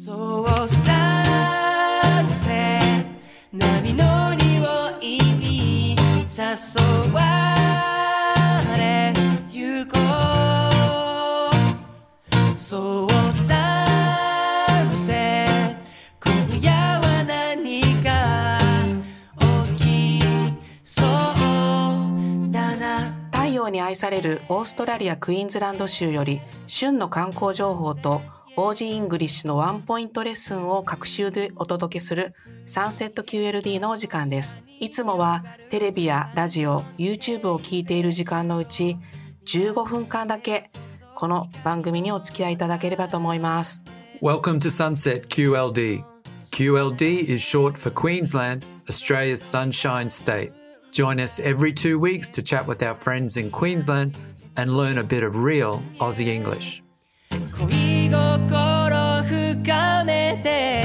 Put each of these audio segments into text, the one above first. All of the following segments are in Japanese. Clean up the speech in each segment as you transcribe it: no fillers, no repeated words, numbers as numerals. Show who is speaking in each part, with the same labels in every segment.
Speaker 1: そうさせ波の匂いに誘われゆこうそうさせ今夜は何か起きそうだな。
Speaker 2: 太陽に愛されるオーストラリアクイーンズランド州より旬の観光情報とオージーイングリッシュのワンポイントレッスンを各週でお届けするサンセット QLD のお時間です。いつもはテレビやラジオ、YouTube を聞いている時間のうち15分間だけこの番組にお付き合いいただければと思います。
Speaker 3: Welcome to Sunset QLD. QLD is short for Queensland, Australia's sunshine state. Join us every 2 weeks to chat with our friends in Queensland and learn a bit of real Aussie English.
Speaker 1: 恋心深めて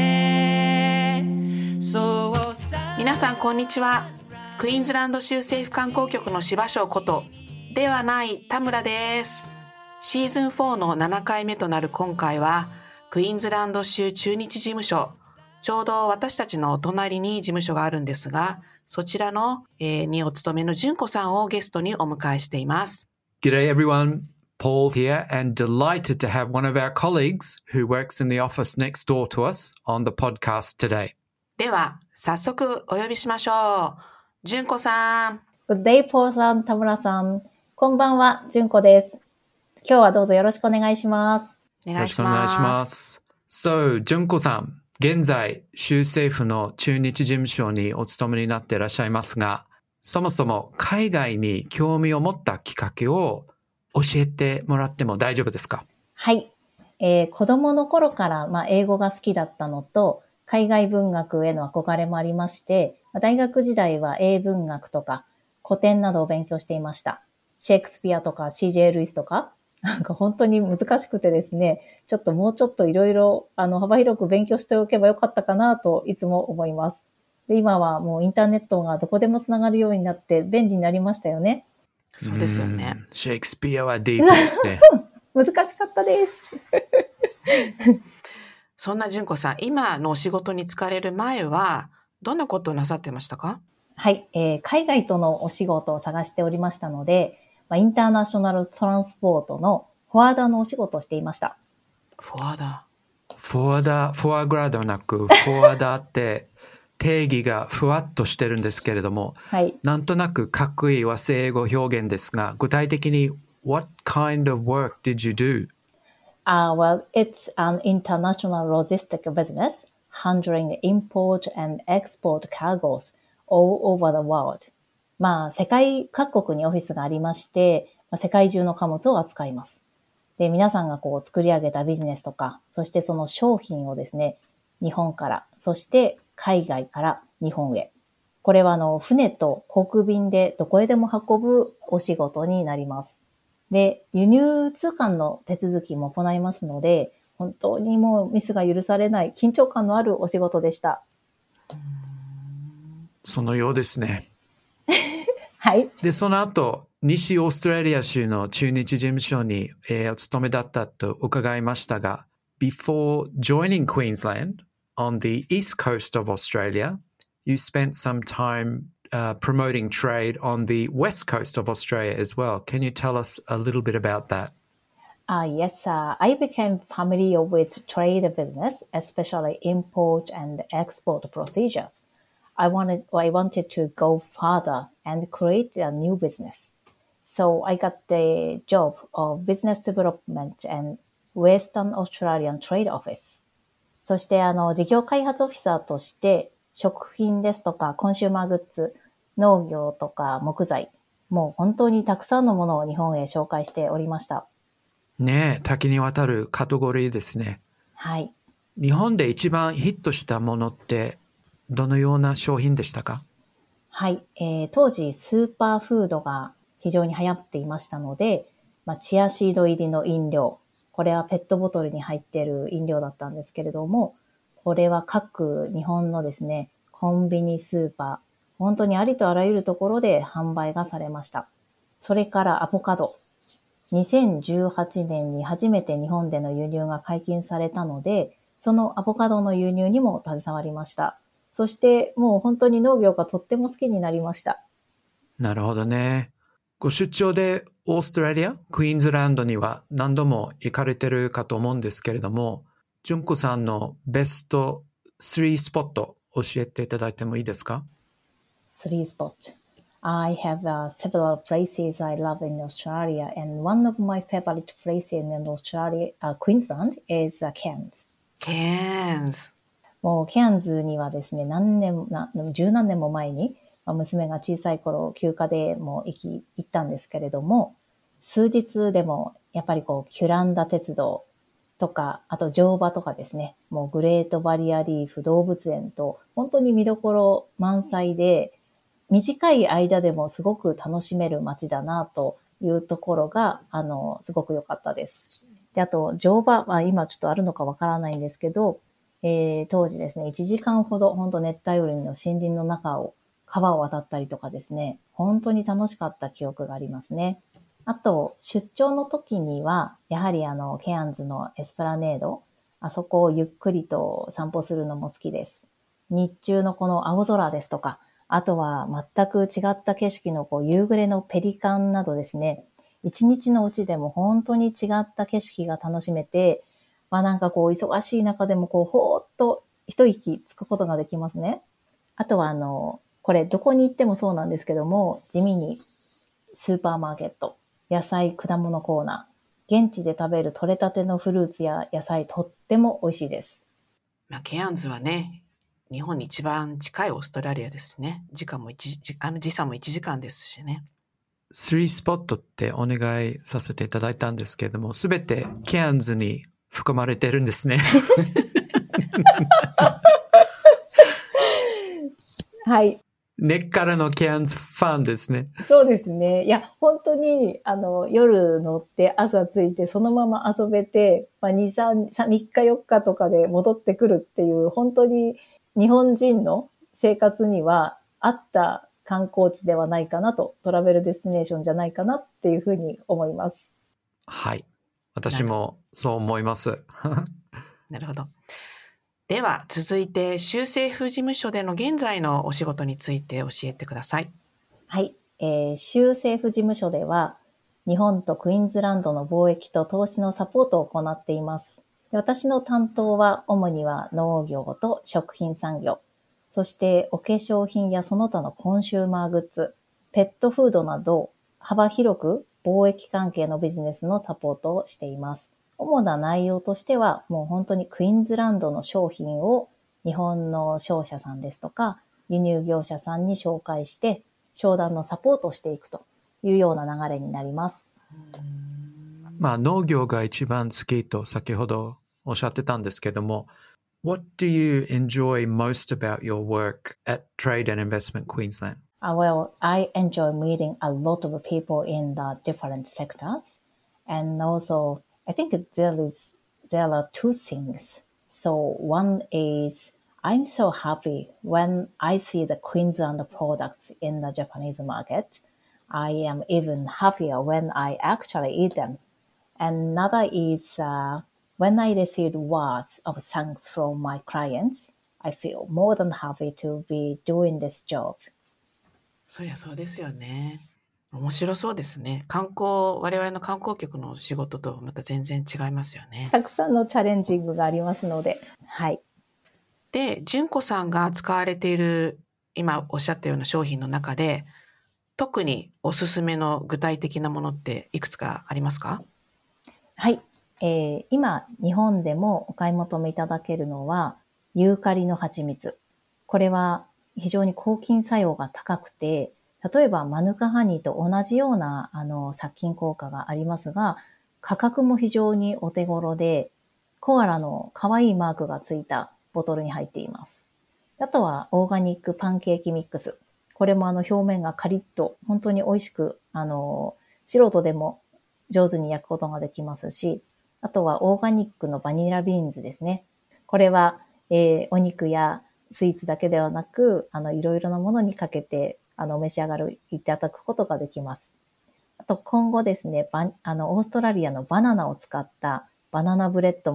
Speaker 1: そうさ
Speaker 2: 皆さんこんにちは。クイーンズランド州政府観光局の柴翔ことではない田村です。シーズン4の7回目となる今回はクイーンズランド州中日事務所、ちょうど私たちのお隣に事務所があるんですが、そちらの、にお勤めの純子さんをゲストにお迎えしています。
Speaker 3: G'day everyone, Paul here and delighted to have one of our colleagues who works in the office next door to us on the podcast today.
Speaker 2: では早速お呼びしましょう。純子さん。
Speaker 4: Good day, Paul さん、田村さん。こんばんは、純子です。今日はどうぞよろしくお願いします。
Speaker 2: お願いします。
Speaker 3: So, 純子さん、現在、州政府の中日事務所にお勤めになっていらっしゃいますが、そもそも海外に興味を持ったきっかけを教えてもらっても大丈夫ですか？
Speaker 4: はい。子供の頃から、英語が好きだったのと、海外文学への憧れもありまして、大学時代は英文学とか古典などを勉強していました。シェイクスピアとか CJ ルイスとか、なんか本当に難しくてですね、もうちょっといろいろ幅広く勉強しておけばよかったかなといつも思います。で、今はもうインターネットがどこでもつながるようになって便利になりましたよね。
Speaker 2: そうですよね。
Speaker 3: シェイクスピアはディープですね。
Speaker 4: 難しかったです。
Speaker 2: そんな純子さん、今のお仕事に就かれる前はどんなことをなさってましたか？
Speaker 4: はい、海外とのお仕事を探しておりましたので、インターナショナルトランスポートのフォワーダーのお仕事をしていました。
Speaker 2: フォワーダー。
Speaker 3: フォアグラではなく、フォワーダーって定義がふわっとしてるんですけれども、
Speaker 4: はい。
Speaker 3: なんとなくかっこいい和製英語表現ですが、具体的に What kind of work did you do?
Speaker 4: Well, it's an international logistic business handling import and export cargoes all over the world. 世界各国にオフィスがありまして、世界中の貨物を扱います。で、皆さんが作り上げたビジネスとか、そしてその商品をですね、日本から、そして海外から日本へ。これは船と航空便でどこへでも運ぶお仕事になります。で、輸入通関の手続きも行いますので、本当にもうミスが許されない緊張感のあるお仕事でした。
Speaker 3: そのようですね。
Speaker 4: はい。
Speaker 3: で、その後、西オーストラリア州の中日事務所に、お勤めだったと伺いましたが、Before joining Queensland on the east coast of Australia, you spent some time promoting trade on the west coast of Australia as well. Can you tell us a little bit about that?
Speaker 4: Yes, I became familiar with trade business, especially import and export procedures. I wanted to go further and create a new business. So I got the job of business development and Western Australian Trade Office. そして事業開発オフィサーとして食品ですとかコンシューマーグッズ、農業とか木材、もう本当にたくさんのものを日本へ紹介しておりました。
Speaker 3: ねえ、多岐にわたるカテゴリーですね。
Speaker 4: はい。
Speaker 3: 日本で一番ヒットしたものってどのような商品でしたか？
Speaker 4: はい、当時スーパーフードが非常に流行っていましたので、チアシード入りの飲料、これはペットボトルに入っている飲料だったんですけれども、これは各日本のですね、コンビニスーパー、本当にありとあらゆるところで販売がされました。それからアボカド。2018年に初めて日本での輸入が解禁されたので、 そのアボカドの輸入にも携わりました。そしてもう本当に農業がとっても好きになりました。
Speaker 3: なるほどね。ご出張でオーストラリア、クイーンズランドには何度も行かれてるかと思うんですけれども、純子さんのベスト3スポット教えていただいてもいいですか？
Speaker 4: 3 spot. I have several places I love in Australia, and one of my favorite places in Australia, Queensland, is Cairns.
Speaker 2: ケーンズ。
Speaker 4: もうケアンズにはですね、十何年も前に、娘が小さい頃休暇でも行ったんですけれども、数日でもやっぱりキュランダ鉄道とか、あと乗馬とかですね、もうグレートバリアリーフ動物園と本当に見どころ満載で、短い間でもすごく楽しめる街だなというところが、すごく良かったです。で、あと乗馬は今ちょっとあるのかわからないんですけど、当時ですね、1時間ほど本当熱帯雨林の森林の中を川を渡ったりとかですね、本当に楽しかった記憶がありますね。あと、出張の時には、やはりケアンズのエスプラネード、あそこをゆっくりと散歩するのも好きです。日中のこの青空ですとか、あとは全く違った景色の夕暮れのペリカンなどですね、一日のうちでも本当に違った景色が楽しめて、なんか忙しい中でもほーっと一息つくことができますね。あとはこれどこに行ってもそうなんですけども、地味にスーパーマーケット、野菜、果物コーナー、現地で食べる採れたてのフルーツや野菜、とっても美味しいです。
Speaker 2: ケアンズはね、日本に一番近いオーストラリアですね。時差も1時間ですしね。
Speaker 3: 3スポットってお願いさせていただいたんですけれども、すべてケアンズに含まれてるんですね。
Speaker 4: はい。
Speaker 3: 根っからのケアンズファンですね。
Speaker 4: そうですね。いや、本当に、夜乗って朝着いてそのまま遊べて、3日4日とかで戻ってくるっていう、本当に日本人の生活には合った観光地ではないかなと、トラベルデスティネーションじゃないかなっていうふうに思います。
Speaker 3: はい。私もそう思います。
Speaker 2: なるほど。では、続いて、州政府事務所での現在のお仕事について教えてください。
Speaker 4: はい。州政府事務所では、日本とクイーンズランドの貿易と投資のサポートを行っています。私の担当は、主には農業と食品産業、そしてお化粧品やその他のコンシューマーグッズ、ペットフードなど、幅広く貿易関係のビジネスのサポートをしています。主な内容としては、もう本当にクイーンズランドの商品を日本の商社さんですとか、輸入業者さんに紹介して、商談のサポートをしていくというような流れになります。
Speaker 3: 農業が一番好きと先ほどおっしゃってたんですけども、What do you enjoy most about your work at Trade and Investment Queensland?
Speaker 4: Well, I enjoy meeting a lot of people in the different sectors. And also, I think there are two things. So one is I'm so happy when I see the Queensland products in the Japanese market. I am even happier when I actually eat them. And another is when I receive words of thanks from my clients, I feel more than happy to be doing this job.
Speaker 2: そりゃそうですよね。面白そうですね。我々の観光局の仕事とまた全然違いますよね。
Speaker 4: たくさんのチャレンジングがありますので、はい。
Speaker 2: で、純子さんが使われている、今おっしゃったような商品の中で、特におすすめの具体的なものっていくつかありますか？
Speaker 4: はい。今、日本でもお買い求めいただけるのは、ユーカリの蜂蜜。これは非常に抗菌作用が高くて、例えばマヌカハニーと同じような殺菌効果がありますが、価格も非常にお手頃で、コアラの可愛いマークがついたボトルに入っています。あとはオーガニックパンケーキミックス。これも表面がカリッと本当に美味しく、素人でも上手に焼くことができますし、あとはオーガニックのバニラビーンズですね。これは、お肉やスイーツだけではなく、いろいろなものにかけて、召し上がる、いただくことができます。あと今後ですね、オーストラリアのバナナを使ったバナナブレッドも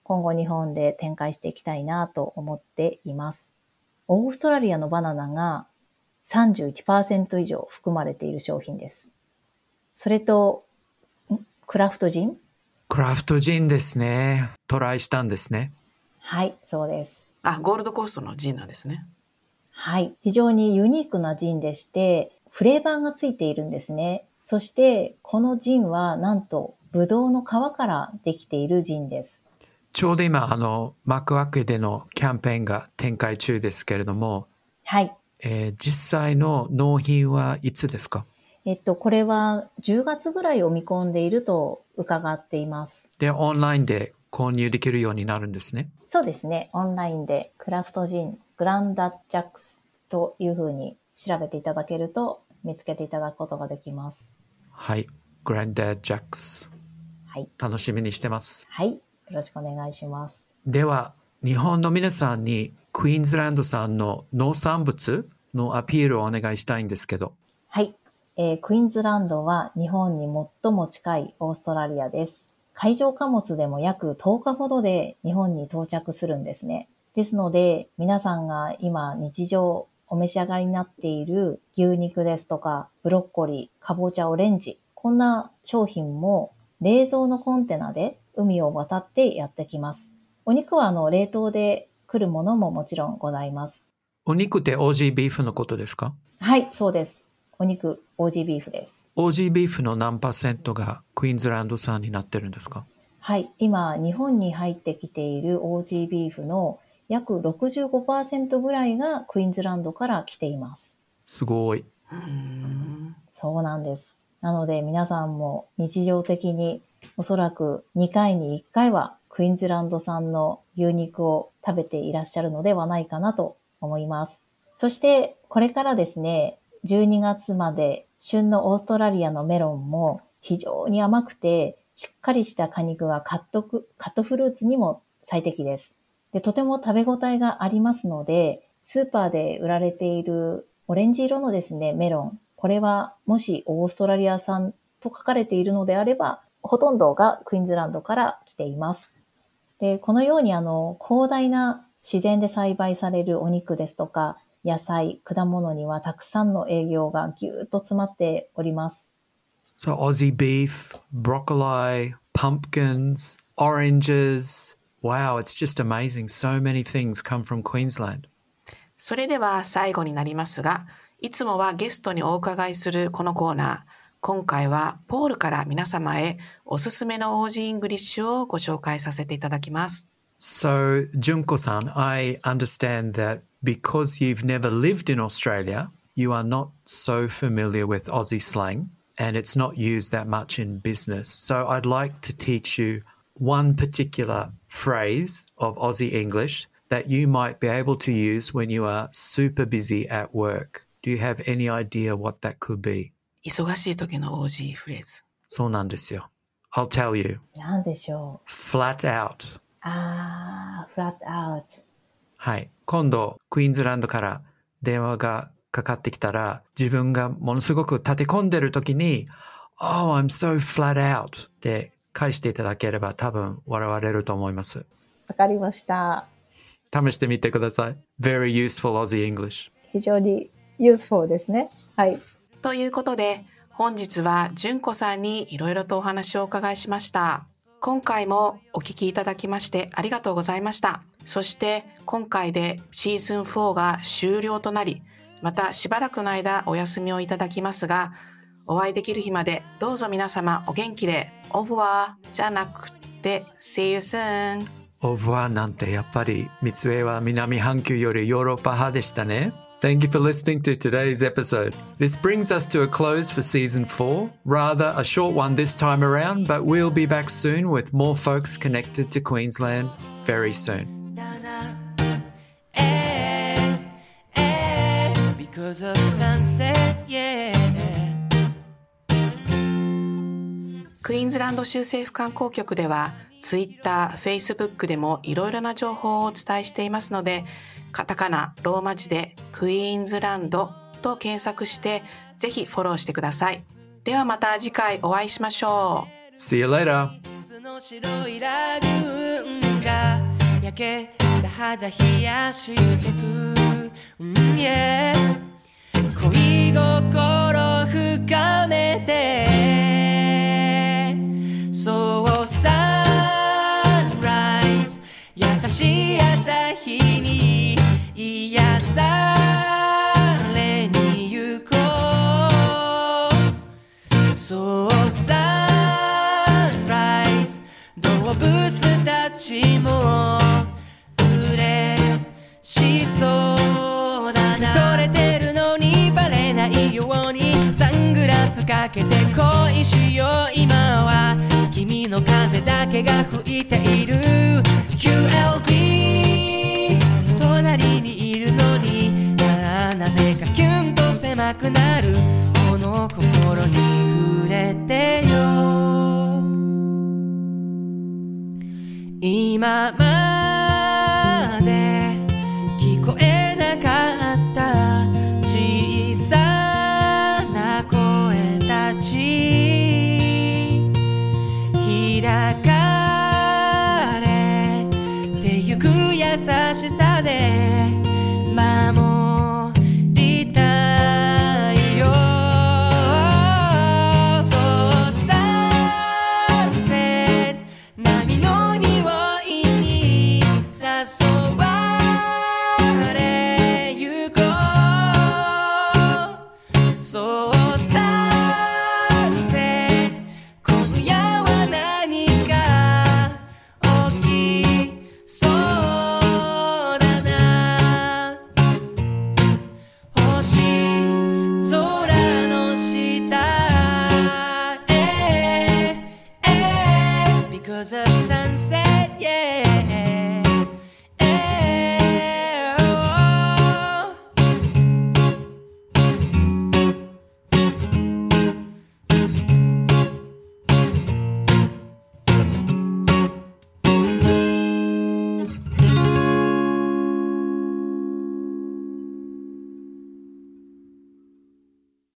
Speaker 4: 今後日本で展開していきたいなと思っています。オーストラリアのバナナが 31% 以上含まれている商品です。それと、クラフトジン？
Speaker 3: クラフトジンですね。トライしたんですね。
Speaker 4: はい、そうです。
Speaker 2: ゴールドコーストのジンなんですね。
Speaker 4: はい、非常にユニークなジンでして、フレーバーがついているんですね。そして、このジンはなんと、ブドウの皮からできているジンです。
Speaker 3: ちょうど今、マクワックでのキャンペーンが展開中ですけれども、
Speaker 4: はい。
Speaker 3: 実際の納品はいつですか？
Speaker 4: これは10月ぐらいを見込んでいると伺っています。
Speaker 3: で、オンラインで購入できるようになるんですね。
Speaker 4: そうですね。オンラインでクラフトジン、グランダジャックスというふうに調べていただけると見つけていただくことができます。
Speaker 3: はい。グランダジャックス。
Speaker 4: はい。
Speaker 3: 楽しみにしてます。
Speaker 4: はい。よろしくお願いします。
Speaker 3: では、日本の皆さんにクイーンズランド産の農産物のアピールをお願いしたいんですけど。
Speaker 4: はい。クイーンズランドは日本に最も近いオーストラリアです。海上貨物でも約10日ほどで日本に到着するんですね。ですので、皆さんが今日常お召し上がりになっている牛肉ですとか、ブロッコリー、かぼちゃ、オレンジ、こんな商品も冷蔵のコンテナで海を渡ってやってきます。お肉は冷凍で来るものももちろんございます。
Speaker 3: お肉ってオージービーフのことですか？
Speaker 4: はい、そうです。お肉、オージービーフです。
Speaker 3: オージービーフの何%がクイーンズランド産になってるんですか？
Speaker 4: はい、今日本に入ってきているオージービーフの約 65% ぐらいがクイーンズランドから来ています。
Speaker 3: すごい。
Speaker 4: そうなんです。なので皆さんも日常的におそらく2回に1回はクイーンズランド産の牛肉を食べていらっしゃるのではないかなと思います。そしてこれからですね、12月まで旬のオーストラリアのメロンも非常に甘くてしっかりした果肉がカットフルーツにも最適です。で、とても食べ応えがありますので、スーパーで売られているオレンジ色のですね、メロン。これはもしオーストラリア産と書かれているのであれば、ほとんどがクイーンズランドから来ています。で、このように広大な自然で栽培されるお肉ですとか、野菜、果物にはたくさんの栄養がぎゅーっと詰まっております。
Speaker 3: So Aussie beef, broccoli, pumpkins, oranges. Wow, it's just amazing. So many things come from Queensland.
Speaker 2: それでは最後になりますが、いつもはゲストにお伺いするこのコーナー。今回はポールから皆様へおすすめのオージーイングリッシュをご紹介させていただきます。
Speaker 3: So, Junko-san, I understand that because you've never lived in Australia, you are not so familiar with Aussie slang and it's not used that much in business. So I'd like to teach you one particular phrase of Aussie English that you might be able to use when you are super busy at work. Do you have any idea what that could be?
Speaker 2: 忙しい時のオージーフレーズ。
Speaker 3: そうなんですよ。I'll tell you.
Speaker 4: 何でしょう。
Speaker 3: Flat out.
Speaker 4: flat out。
Speaker 3: はい。今度、クイーンズランドから電話がかかってきたら、自分がものすごく立て込んでる時に、Oh, I'm so flat out って返していただければ多分笑われると思います。
Speaker 4: わかりました。
Speaker 3: 試してみてください。Very useful Aussie English。
Speaker 4: 非常に useful ですね。はい。
Speaker 2: ということで、本日は純子さんにいろいろとお話をお伺いしました。今回もお聞きいただきましてありがとうございました。そして今回でシーズン4が終了となり、またしばらくの間お休みをいただきますが、お会いできる日までどうぞ皆様お元気で、オブワーじゃなくて See you soon。
Speaker 3: オブワーなんてやっぱり三つ上は南半球よりヨーロッパ派でしたね。Thank you for listening to today's episode. This brings us to a close for season 4. Rather a short one this time around, but we'll be back soon with more folks connected to Queensland very soon.
Speaker 1: Because of sunset, yeah.
Speaker 2: クイーンズランド州政府観光局では Twitter、Facebook でもいろいろな情報をお伝えしていますので、カタカナ、ローマ字でクイーンズランドと検索してぜひフォローしてください。ではまた次回お会いしましょう。
Speaker 3: See you later!
Speaker 1: 水の白いラグーンがけた肌冷やしてく、yeah、恋心深めてそうサンライズ優しい朝日に癒されに行こう、そうサンライズ動物たちも嬉しそうだな、撮れてるのにバレないようにサングラスかけて恋しよう、今は君の風だけが吹いている QLB 隣にいるのになぜかキュンと狭くなるこの心に触れてよ、今まで聞こえなかった小さな声たち開かれてゆく優しさで